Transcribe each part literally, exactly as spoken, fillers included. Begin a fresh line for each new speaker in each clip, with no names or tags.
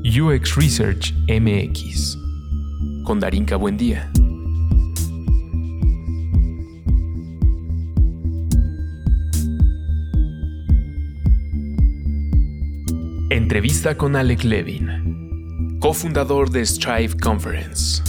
U X Research M X con Darinka Buendía. Entrevista con Alec Levin, cofundador de Strive Conference.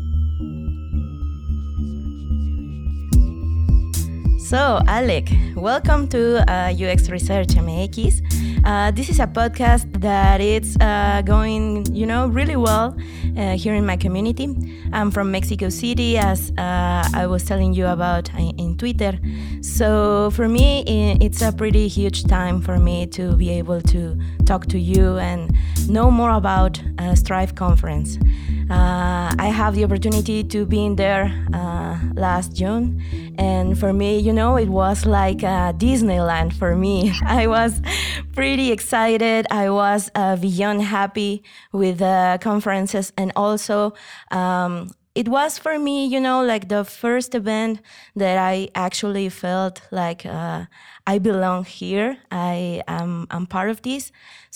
So, Alec, welcome to uh, U X Research M X. Uh, this is a podcast that it's uh, going, you know, really well uh, here in my community. I'm from Mexico City, as uh, I was telling you about in, in Twitter. So for me, it's a pretty huge time for me to be able to talk to you and know more about uh, Strive Conference. Uh, I have the opportunity to be in there uh, last June, and for me, you know, it was like uh, Disneyland for me. I was pretty excited. I was uh, beyond happy with the conferences, and also um, it was for me, you know, like the first event that I actually felt like uh, I belong here. I am I'm part of this.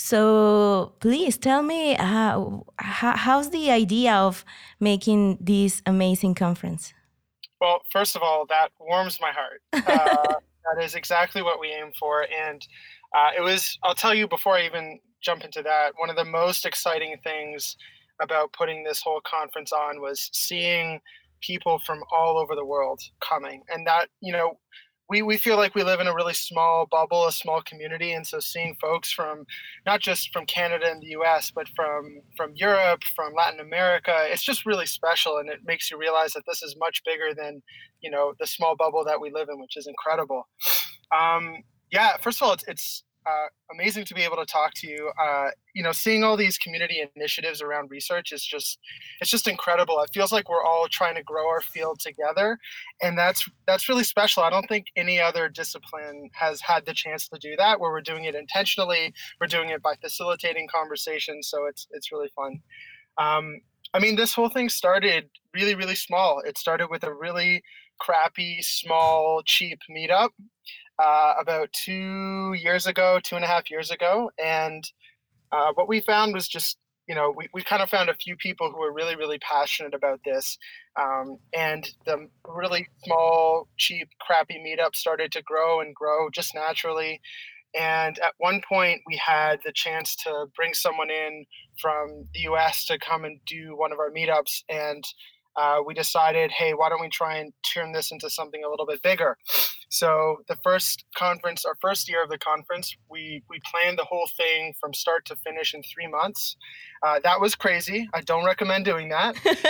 So please tell me, how, how how's the idea of making this amazing conference?
Well, first of all, that warms my heart. Uh, that is exactly what we aim for. And uh, it was, I'll tell you before I even jump into that, one of the most exciting things about putting this whole conference on was seeing people from all over the world coming. And that, you know, we, we feel like we live in a really small bubble, a small community. And so seeing folks from not just from Canada and the U S, but from, from Europe, from Latin America, it's just really special. And it makes you realize that this is much bigger than, you know, the small bubble that we live in, which is incredible. Um, yeah, first of all, it's, it's uh, amazing to be able to talk to you. Uh, you know, seeing all these community initiatives around research is just, it's just incredible. It feels like we're all trying to grow our field together. And that's, that's really special. I don't think any other discipline has had the chance to do that, where we're doing it intentionally. We're doing it by facilitating conversations. So it's, it's really fun. Um, I mean, this whole thing started really, really small. It started with a really crappy, small, cheap meetup uh, about two years ago, two and a half years ago. And uh, what we found was just, you know, we, we kind of found a few people who were really, really passionate about this. Um, and the really small, cheap, crappy meetup started to grow and grow just naturally. And at one point, we had the chance to bring someone in from the U S to come and do one of our meetups. And uh, we decided, hey, why don't we try and turn this into something a little bit bigger? So the first conference, our first year of the conference, we, we planned the whole thing from start to finish in three months. Uh, that was crazy. I don't recommend doing that.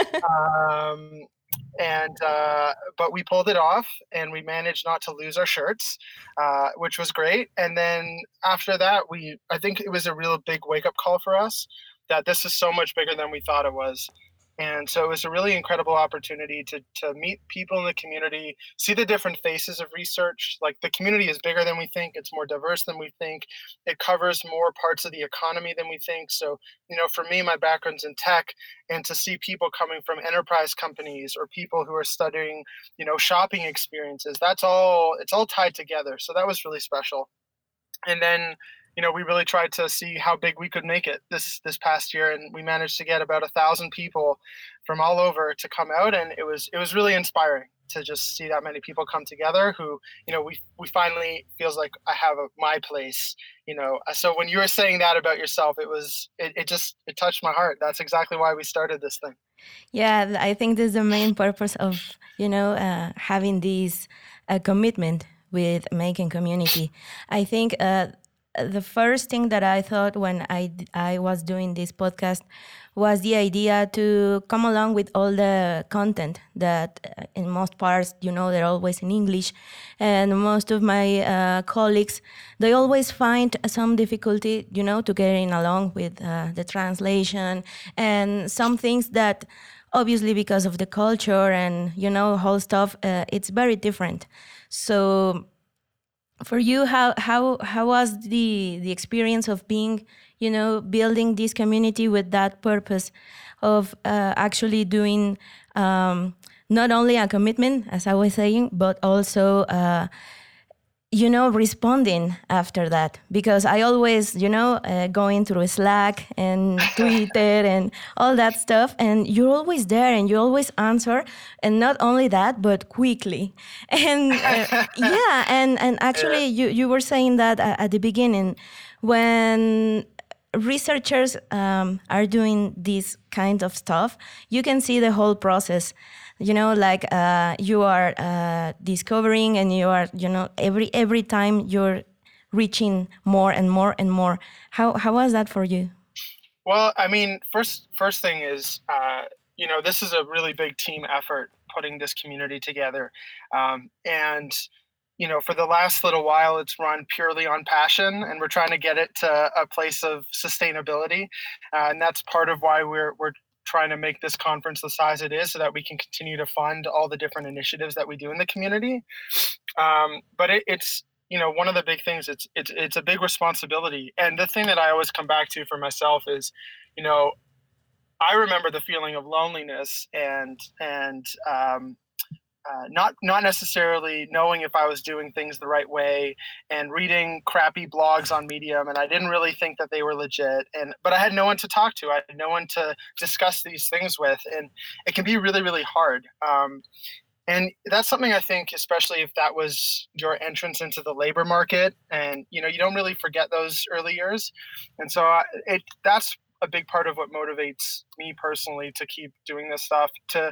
um, and uh, but we pulled it off, and we managed not to lose our shirts, uh, which was great. And then after that, we I think it was a real big wake-up call for us that this is so much bigger than we thought it was. And so it was a really incredible opportunity to to meet people in the community, see the different faces of research. Like, the community is bigger than we think. It's more diverse than we think. It covers more parts of the economy than we think. So, you know, for me, my background's in tech, and to see people coming from enterprise companies or people who are studying, you know, shopping experiences, that's all, it's all tied together. So that was really special. And then, you know, we really tried to see how big we could make it this this past year, and we managed to get about a thousand people from all over to come out, and it was it was really inspiring to just see that many people come together. Who, you know, we we finally feels like I have a, my place. You know, so when you were saying that about yourself, it was it, it just it touched my heart. That's exactly why we started this thing.
Yeah, I think this is the main purpose of, you know, uh, having this uh, commitment with making community. I think uh, the first thing that I thought when I, I was doing this podcast was the idea to come along with all the content that uh, in most parts, you know, they're always in English. And most of my uh, colleagues, they always find some difficulty, you know, to getting along with uh, the translation and some things that obviously because of the culture and, you know, whole stuff, uh, it's very different. So for you, how how how was the the experience of being, you know, building this community with that purpose of uh, actually doing um, not only a commitment, as I was saying, but also uh, you know, responding after that, because I always, you know, uh, going through Slack and Twitter and all that stuff, and you're always there and you always answer, and not only that, but quickly. And uh, yeah, and and actually,
Yeah.
you you were saying that uh, at the beginning, when researchers um, are doing this kind of stuff, you can see the whole process. You know, like uh, you are uh, discovering, and you are, you know, every every time you're reaching more and more and more. How how was that for you?
Well, I mean, first first thing is, uh, you know, this is a really big team effort putting this community together, um, and you know, for the last little while, it's run purely on passion, and we're trying to get it to a place of sustainability, uh, and that's part of why we're we're trying to make this conference the size it is, so that we can continue to fund all the different initiatives that we do in the community. Um, but it, it's you know one of the big things. It's it's it's a big responsibility, and the thing that I always come back to for myself is, you know, I remember the feeling of loneliness and and um, uh, not not necessarily knowing if I was doing things the right way, and reading crappy blogs on Medium, and I didn't really think that they were legit. And but I had no one to talk to. I had no one to discuss these things with, and it can be really really hard. Um, and that's something I think, especially if that was your entrance into the labor market, and you know you don't really forget those early years. And so I, it that's a big part of what motivates me personally to keep doing this stuff, to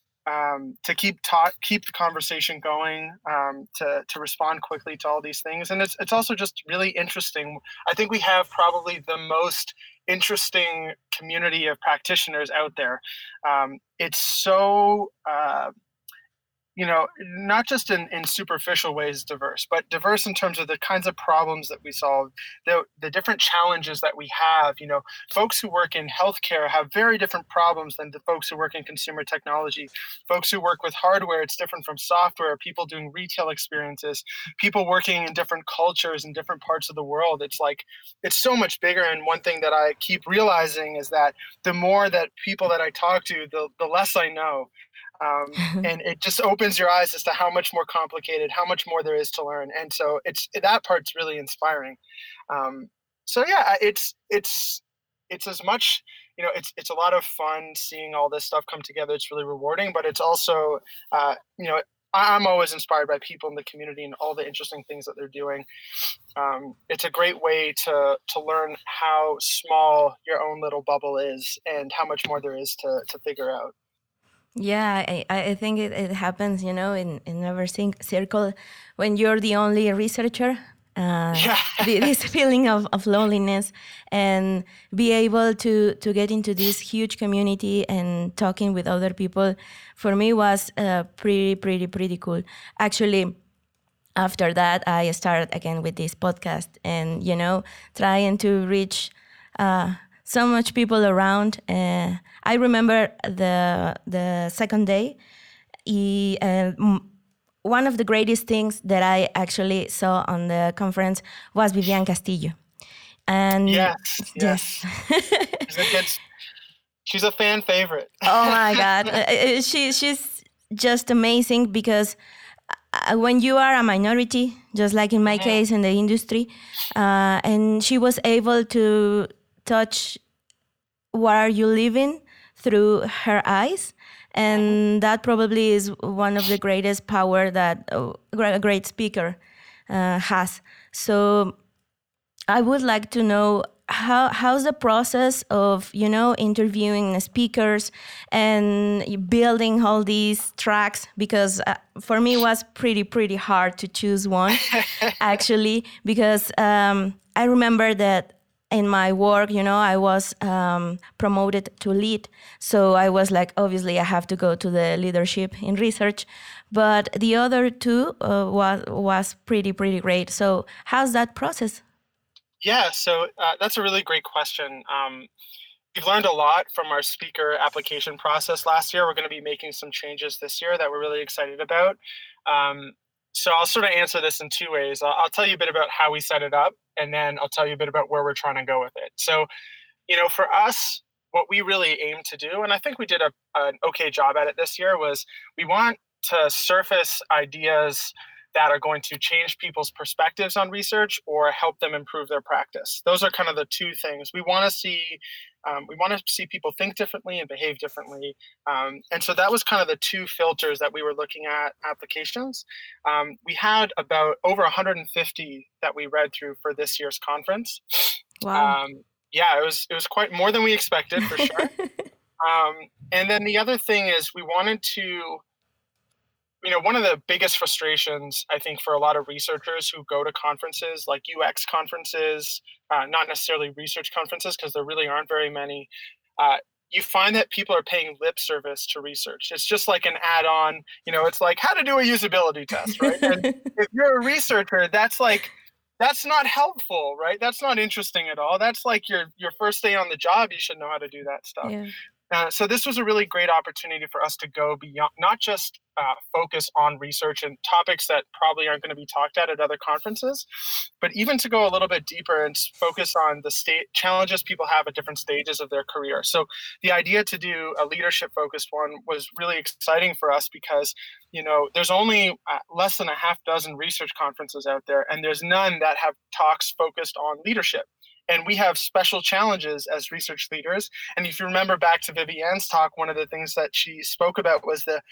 um, to keep talk, keep the conversation going, um, to to respond quickly to all these things, and it's it's also just really interesting. I think we have probably the most interesting community of practitioners out there. Um, it's so uh, you know, not just in, in superficial ways diverse, but diverse in terms of the kinds of problems that we solve, the, the different challenges that we have. You know, folks who work in healthcare have very different problems than the folks who work in consumer technology. Folks who work with hardware, it's different from software. People doing retail experiences, people working in different cultures in different parts of the world. It's like, it's so much bigger. And one thing that I keep realizing is that the more that people that I talk to, the, the less I know. Um, and it just opens your eyes as to how much more complicated, how much more there is to learn. And so it's that part's really inspiring. Um, so yeah, it's it's it's as much, you know, it's it's a lot of fun seeing all this stuff come together. It's really rewarding, but it's also, uh, you know, I'm always inspired by people in the community and all the interesting things that they're doing. Um, it's a great way to to learn how small your own little bubble is and how much more there is to to figure out.
Yeah, I, I think it, it happens, you know, in, in our cin- circle when you're the only researcher. Uh,
Yeah.
the, this feeling of, of loneliness, and be able to, to get into this huge community and talking with other people, for me was uh, pretty, pretty, pretty cool. Actually, after that, I started again with this podcast and, you know, trying to reach uh, so much people around. Uh, I remember the the second day, he, uh, m- one of the greatest things that I actually saw on the conference was Vivian Castillo. And
Yes,
yes.
yes. She's a good, she's a fan favorite.
Oh my God. Uh, uh, she, she's just amazing, because uh, when you are a minority, just like in my
Mhm.
case in the industry, uh, and she was able to touch what are you living through her eyes. And that probably is one of the greatest power that uh, a great speaker uh, has. So I would like to know how how's the process of, you know, interviewing speakers and building all these tracks, because uh, for me it was pretty pretty hard to choose one actually, because um, I remember that in my work, you know, I was um, promoted to lead. So I was like, obviously I have to go to the leadership in research. But the other two uh, was, was pretty, pretty great. So how's that process?
Yeah, so uh, that's a really great question. Um, we've learned a lot from our speaker application process last year. We're going to be making some changes this year that we're really excited about. Um, so I'll sort of answer this in two ways. I'll, I'll tell you a bit about how we set it up, and then I'll tell you a bit about where we're trying to go with it. So, you know, for us, what we really aim to do, and I think we did a, an okay job at it this year, was we want to surface ideas that are going to change people's perspectives on research or help them improve their practice. Those are kind of the two things. We want to see um, we want to see people think differently and behave differently. Um, and so that was kind of the two filters that we were looking at applications. Um, we had about over one hundred fifty that we read through for this year's conference.
Wow.
Um, yeah, it was it was quite more than we expected, for sure. um, and then the other thing is we wanted to, you know, one of the biggest frustrations, I think, for a lot of researchers who go to conferences like U X conferences, uh, not necessarily research conferences, because there really aren't very many, uh, you find that people are paying lip service to research. It's just like an add-on, you know, it's like how to do a usability test, right? And if you're a researcher, that's like, that's not helpful, right? That's not interesting at all. That's like your your first day on the job. You should know how to do that stuff.
Yeah.
Uh, so this was a really great opportunity for us to go beyond, not just uh, focus on research and topics that probably aren't going to be talked at at other conferences, but even to go a little bit deeper and focus on the state challenges people have at different stages of their career. So the idea to do a leadership focused one was really exciting for us because, you know, there's only uh, less than a half dozen research conferences out there, and there's none that have talks focused on leadership. And we have special challenges as research leaders. And if you remember back to Vivianne's talk, one of the things that she spoke about was the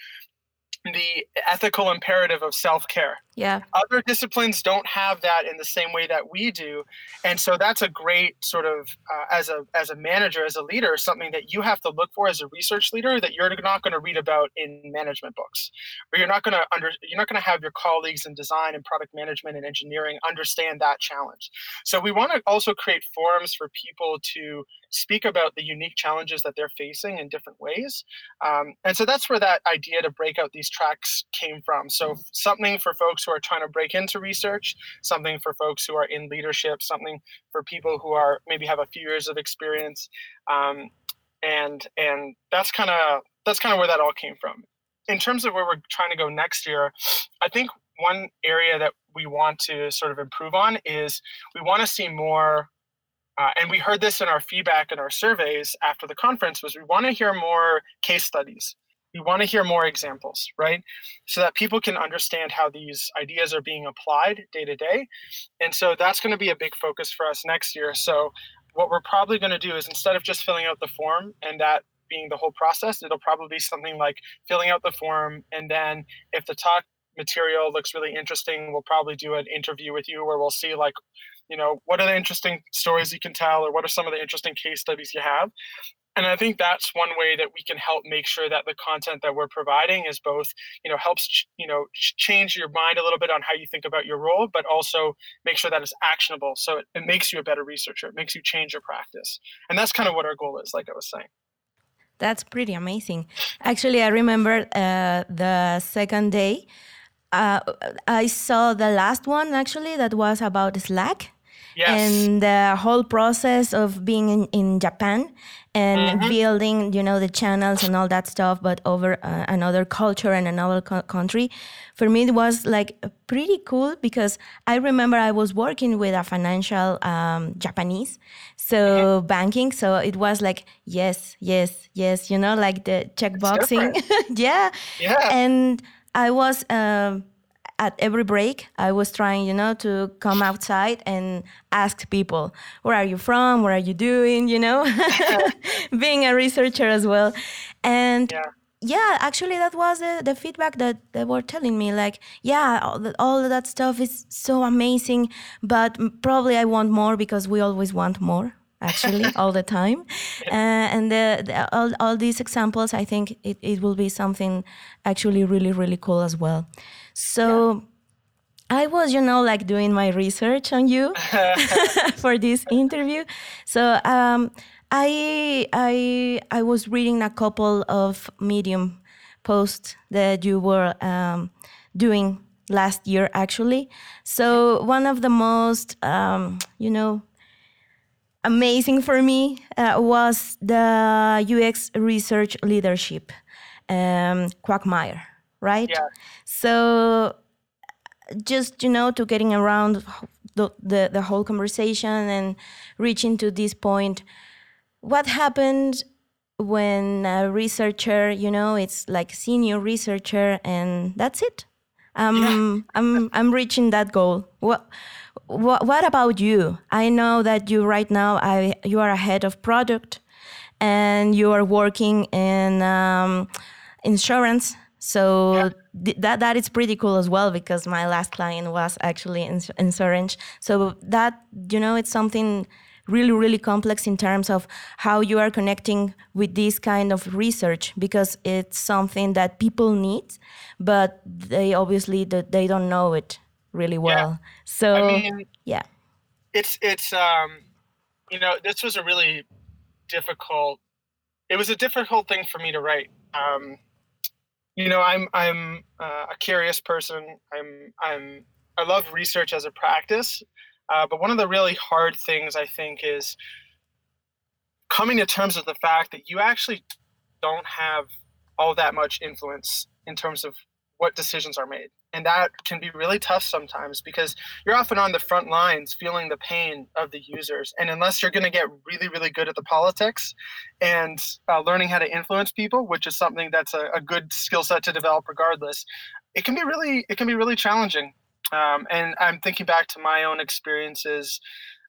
the ethical imperative of self-care.
Yeah.
Other disciplines don't have that in the same way that we do. And so that's a great sort of, uh, as a as a manager, as a leader, something that you have to look for as a research leader that you're not going to read about in management books. Or you're not going to under you're not going to have your colleagues in design and product management and engineering understand that challenge. So we want to also create forums for people to speak about the unique challenges that they're facing in different ways. Um, and so that's where that idea to break out these tracks came from. So something for folks who are trying to break into research, something for folks who are in leadership, something for people who are maybe have a few years of experience. Um, and and that's kind of that's kind of where that all came from. In terms of where we're trying to go next year, I think one area that we want to sort of improve on is we want to see more. Uh, and we heard this in our feedback and our surveys after the conference was we want to hear more case studies. We want to hear more examples, right? So that people can understand how these ideas are being applied day to day. And so that's going to be a big focus for us next year. So what we're probably going to do is instead of just filling out the form and that being the whole process, it'll probably be something like filling out the form. And then if the talk material looks really interesting, we'll probably do an interview with you where we'll see like, you know, what are the interesting stories you can tell or what are some of the interesting case studies you have? And I think that's one way that we can help make sure that the content that we're providing is both, you know, helps, you know, change your mind a little bit on how you think about your role, but also make sure that it's actionable. So it, it makes you a better researcher. It makes you change your practice. And that's kind of what our goal is, like I was saying.
That's pretty amazing. Actually, I remember uh, the second day, uh, I saw the last one actually that was about Slack.
Yes.
And the whole process of being in, in Japan and mm-hmm. building, you know, the channels and all that stuff, but over uh, another culture and another co- country. For me, it was like pretty cool because I remember I was working with a financial um, Japanese, so mm-hmm. banking. So it was like, yes, yes, yes, you know, like the checkboxing. yeah.
Yeah.
And I was... Uh, At every break, I was trying, you know, to come outside and ask people, where are you from? What are you doing? You know, being a researcher as well. And yeah, yeah actually, that was the, the feedback that they were telling me. Like, yeah, all, the, all of that stuff is so amazing, but probably I want more because we always want more. Actually, all the time. Uh, and the, the, all, all these examples, I think it, it will be something actually really, really cool as well. So yeah. I was, you know, like doing my research on you for this interview. So um, I, I, I was reading a couple of Medium posts that you were um, doing last year, actually. So one of the most, um, you know, amazing for me uh, was the U X research leadership, um, Quagmire, right?
Yeah.
So just, you know, to getting around the, the, the whole conversation and reaching to this point, what happened when a researcher, you know, it's like senior researcher and that's it? I'm yeah. I'm I'm reaching that goal. What what what about you? I know that you right now I you are a head of product, and you are working in um, insurance. So
Yeah.
th- that that is pretty cool as well, because my last client was actually in insurance. So that, you know, it's something really, really complex in terms of how you are connecting with this kind of research, because it's something that people need, but they obviously they don't know it really well.
Yeah.
So
I mean,
yeah,
it's it's um, you know, this was a really difficult. It was a difficult thing for me to write. Um, you know, I'm I'm uh, a curious person. I'm I'm I love research as a practice, uh, but one of the really hard things I think is coming to terms with the fact that you actually don't have all that much influence in terms of what decisions are made. And that can be really tough sometimes, because you're often on the front lines feeling the pain of the users. And unless you're going to get really, really good at the politics and uh, learning how to influence people, which is something that's a, a good skill set to develop regardless, it can be really, it can be really challenging. Um, and I'm thinking back to my own experiences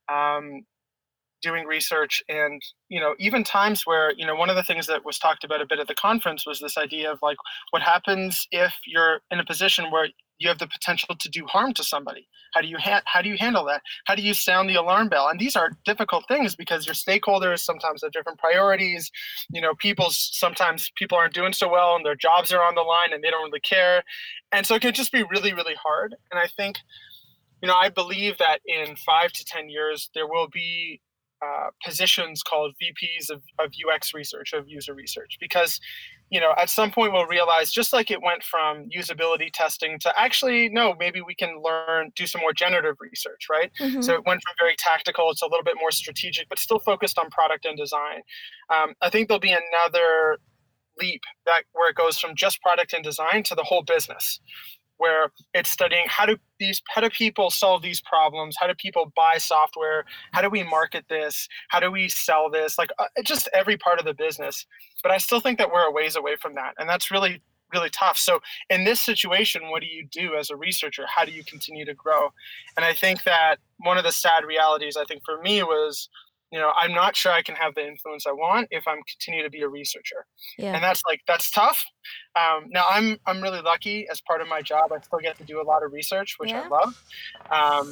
um, doing research, and you know, even times where, you know, one of the things that was talked about a bit at the conference was this idea of like, what happens if you're in a position where you have the potential to do harm to somebody? How do you ha- how do you handle that? How do you sound the alarm bell? And these are difficult things, because your stakeholders sometimes have different priorities. You know, people's sometimes people aren't doing so well and their jobs are on the line and they don't really care, and so it can just be really, really hard. And I think, you know, I believe that in five to ten years there will be Uh, positions called V Ps of, of U X research, of user research, because, you know, at some point we'll realize, just like it went from usability testing to actually, no, maybe we can learn, do some more generative research, right?
mm-hmm.
So it went from very tactical to a little bit more strategic, but still focused on product and design. Um, I think there'll be another leap that where it goes from just product and design to the whole business, where it's studying how do these how do people solve these problems, how do people buy software, how do we market this, how do we sell this, like uh, just every part of the business. But I still think that we're a ways away from that, and that's really, really tough. So in this situation, what do you do as a researcher? How do you continue to grow? And I think that one of the sad realities, I think, for me was, you know, I'm not sure I can have the influence I want if I'm continue to be a researcher. Yeah. And that's like, that's tough. Um, now I'm, I'm really lucky as part of my job. I still get to do a lot of research, which yeah. I love. Um,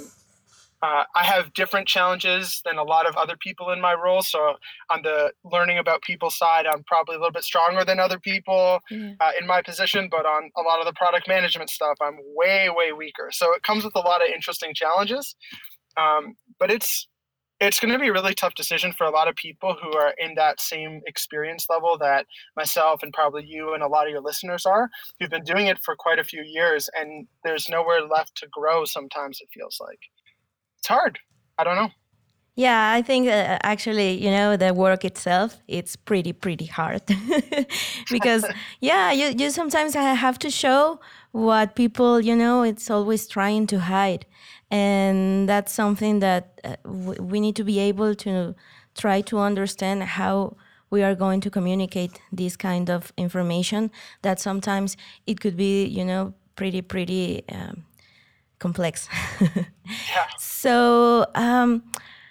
uh, I have different challenges than a lot of other people in my role. So on the learning about people side, I'm probably a little bit stronger than other people yeah. uh, in my position, but on a lot of the product management stuff, I'm way, way weaker. So it comes with a lot of interesting challenges. Um, but it's, It's going to be a really tough decision for a lot of people who are in that same experience level that myself and probably you and a lot of your listeners are, who've been doing it for quite a few years, and there's nowhere left to grow sometimes, it feels like. It's hard. I don't know.
Yeah, I think uh, actually, you know, the work itself, it's pretty, pretty hard. Because, yeah, you, you sometimes have to show what people, you know, it's always trying to hide. And that's something that uh, w- we need to be able to try to understand how we are going to communicate this kind of information, that sometimes it could be, you know, pretty, pretty um, complex.
Yeah.
So, um,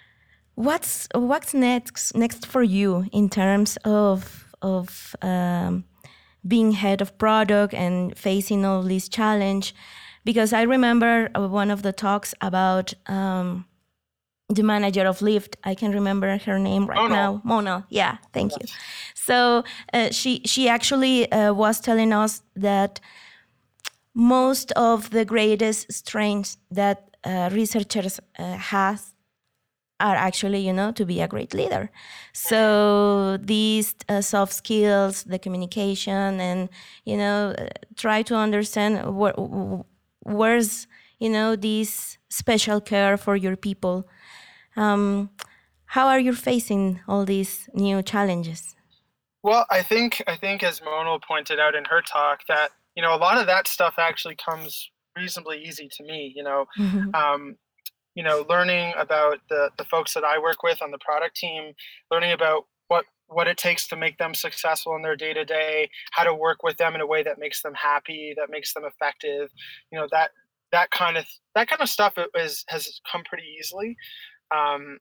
what's what's next next for you in terms of of um, being head of product and facing all this challenge? Because I remember one of the talks about um, the manager of Lyft. I can remember her name right
Mona.
now. Mona. Yeah, thank yes. you. So uh, she she actually uh, was telling us that most of the greatest strengths that uh, researchers uh, have are actually, you know, to be a great leader. So these uh, soft skills, the communication, and, you know, uh, try to understand where, where's, you know, this special care for your people. Um, how are you facing all these new challenges?
Well, I think, I think as Mona pointed out in her talk, that, you know, a lot of that stuff actually comes reasonably easy to me, you know. Mm-hmm. Um, you know, learning about the, the folks that I work with on the product team, learning about what what it takes to make them successful in their day to day, how to work with them in a way that makes them happy, that makes them effective. You know, that that kind of that kind of stuff is has come pretty easily. Um,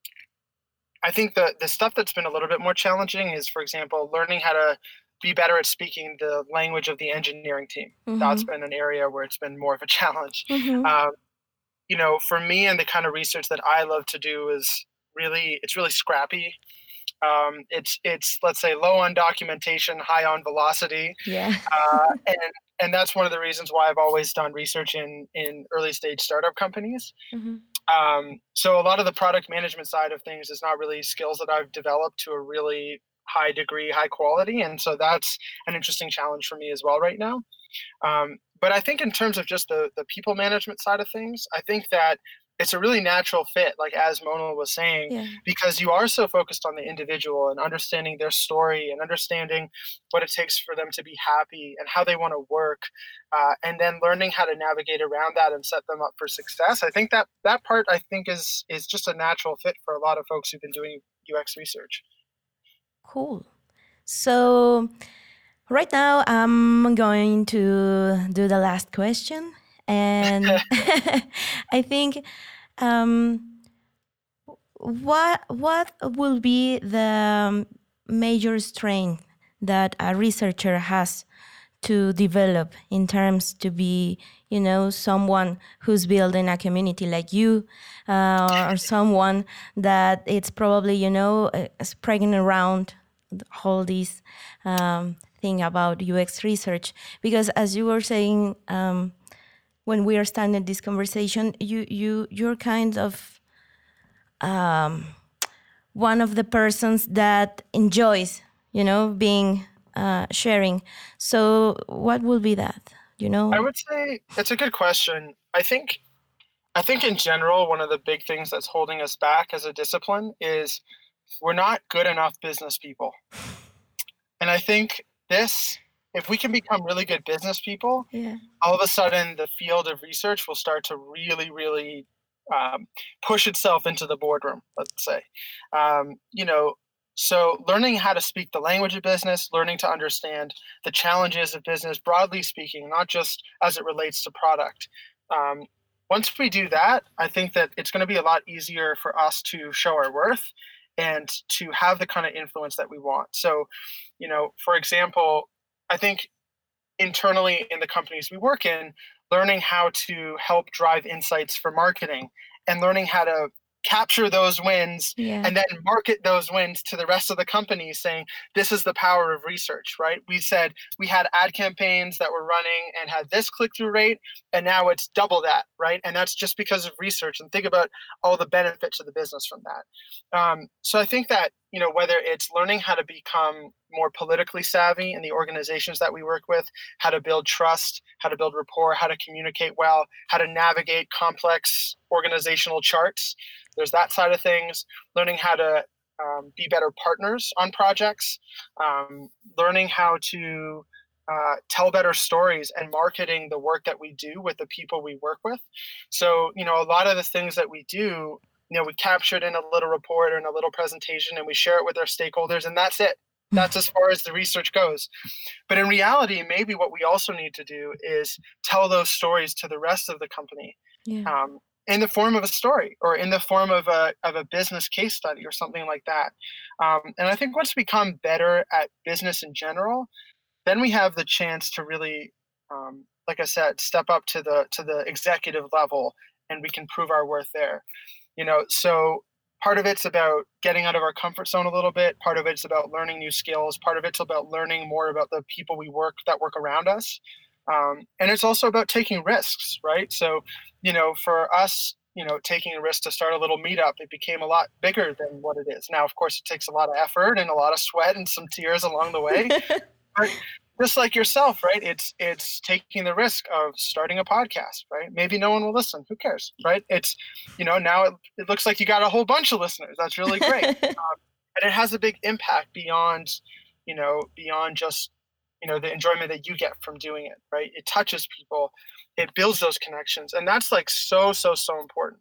I think the the stuff that's been a little bit more challenging is, for example, learning how to be better at speaking the language of the engineering team. Mm-hmm. That's been an area where it's been more of a challenge. Mm-hmm. Um, you know, for me and the kind of research that I love to do is really, it's really scrappy. Um, it's, it's, let's say, low on documentation, high on velocity.
Yeah.
uh, and, and that's one of the reasons why I've always done research in, in early stage startup companies. Mm-hmm. Um, so a lot of the product management side of things is not really skills that I've developed to a really high degree, high quality. And so that's an interesting challenge for me as well right now. Um, but I think in terms of just the, the people management side of things, I think that it's a really natural fit, like as Mona was saying, yeah. because you are so focused on the individual and understanding their story and understanding what it takes for them to be happy and how they want to work, uh, and then learning how to navigate around that and set them up for success. I think that that part, I think, is is just a natural fit for a lot of folks who've been doing U X research.
Cool. So right now I'm going to do the last question. And I think um, what what will be the major strength that a researcher has to develop in terms to be, you know, someone who's building a community like you, uh, or someone that it's probably, you know, spreading around all these um, thing about U X research? Because as you were saying, um, when we are starting this conversation, you you you're kind of um, one of the persons that enjoys, you know, being uh, sharing. So what will be that? You know,
I would say it's a good question. I think I think in general, one of the big things that's holding us back as a discipline is we're not good enough business people. And I think this, if we can become really good business people, yeah. all of a sudden the field of research will start to really, really um, push itself into the boardroom, let's say. Um, you know, so learning how to speak the language of business, learning to understand the challenges of business, broadly speaking, not just as it relates to product. Um, once we do that, I think that it's going to be a lot easier for us to show our worth and to have the kind of influence that we want. So, you know, for example, I think internally in the companies we work in, learning how to help drive insights for marketing and learning how to capture those wins yeah. and then market those wins to the rest of the company, saying this is the power of research, right? We said we had ad campaigns that were running and had this click-through rate, and now it's double that, right? And that's just because of research. And think about all the benefits of the business from that. Um, so I think that, you know, whether it's learning how to become more politically savvy in the organizations that we work with, how to build trust, how to build rapport, how to communicate well, how to navigate complex organizational charts. There's that side of things. Learning how to um, be better partners on projects, um, learning how to uh, tell better stories and marketing the work that we do with the people we work with. So, you know, a lot of the things that we do, you know, we capture it in a little report or in a little presentation and we share it with our stakeholders, and that's it. That's as far as the research goes. But in reality, maybe what we also need to do is tell those stories to the rest of the company yeah. um, in the form of a story or in the form of a of a business case study or something like that. Um, and I think once we become better at business in general, then we have the chance to really, um, like I said, step up to the to the executive level, and we can prove our worth there. You know, so part of it's about getting out of our comfort zone a little bit. Part of it's about learning new skills. Part of it's about learning more about the people we work that work around us. Um, and it's also about taking risks, right? So, you know, for us, you know, taking a risk to start a little meetup, it became a lot bigger than what it is. Now, of course, it takes a lot of effort and a lot of sweat and some tears along the way. But just like yourself, right? It's it's taking the risk of starting a podcast, right? Maybe no one will listen. Who cares, right? It's, you know, now it, it looks like you got a whole bunch of listeners. That's really great. um, and it has a big impact beyond, you know, beyond just, you know, the enjoyment that you get from doing it, right? It touches people. It builds those connections. And that's like so, so, so important.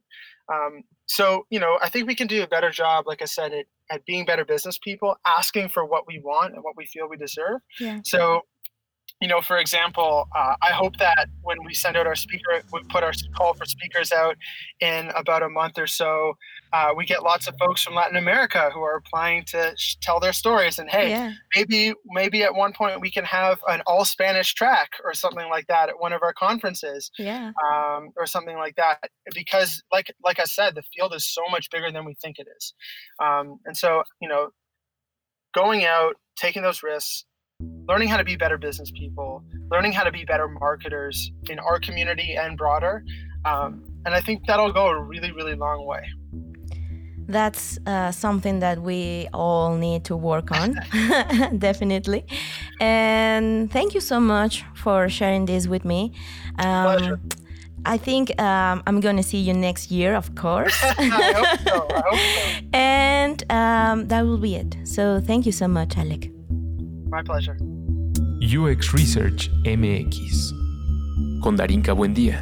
Um, so, you know, I think we can do a better job, like I said, at, at being better business people, asking for what we want and what we feel we deserve.
Yeah.
So, you know, for example, uh, I hope that when we send out our speaker, we put our call for speakers out in about a month or so, uh, we get lots of folks from Latin America who are applying to sh- tell their stories. And hey,
Yeah.
maybe maybe at one point we can have an all Spanish track or something like that at one of our conferences,
Yeah.
um, or something like that. Because, like like I said, the field is so much bigger than we think it is. Um, and so, you know, going out, taking those risks, learning how to be better business people, learning how to be better marketers in our community and broader. Um, and I think that'll go a really, really long way.
That's uh, something that we all need to work on, definitely. And thank you so much for sharing this with me. Um,
Pleasure.
I think um, I'm going to see you next year, of course.
I hope so. I hope so.
And um, that will be it. So thank you so much, Alec.
My pleasure.
U X Research M X con Darinka Buendía.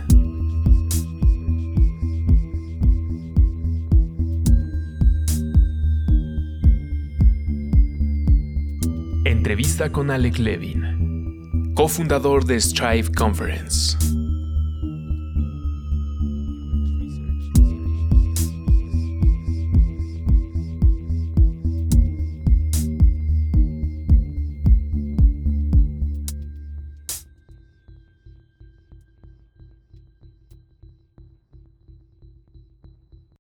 Entrevista con Alec Levin, cofundador de Strive Conference.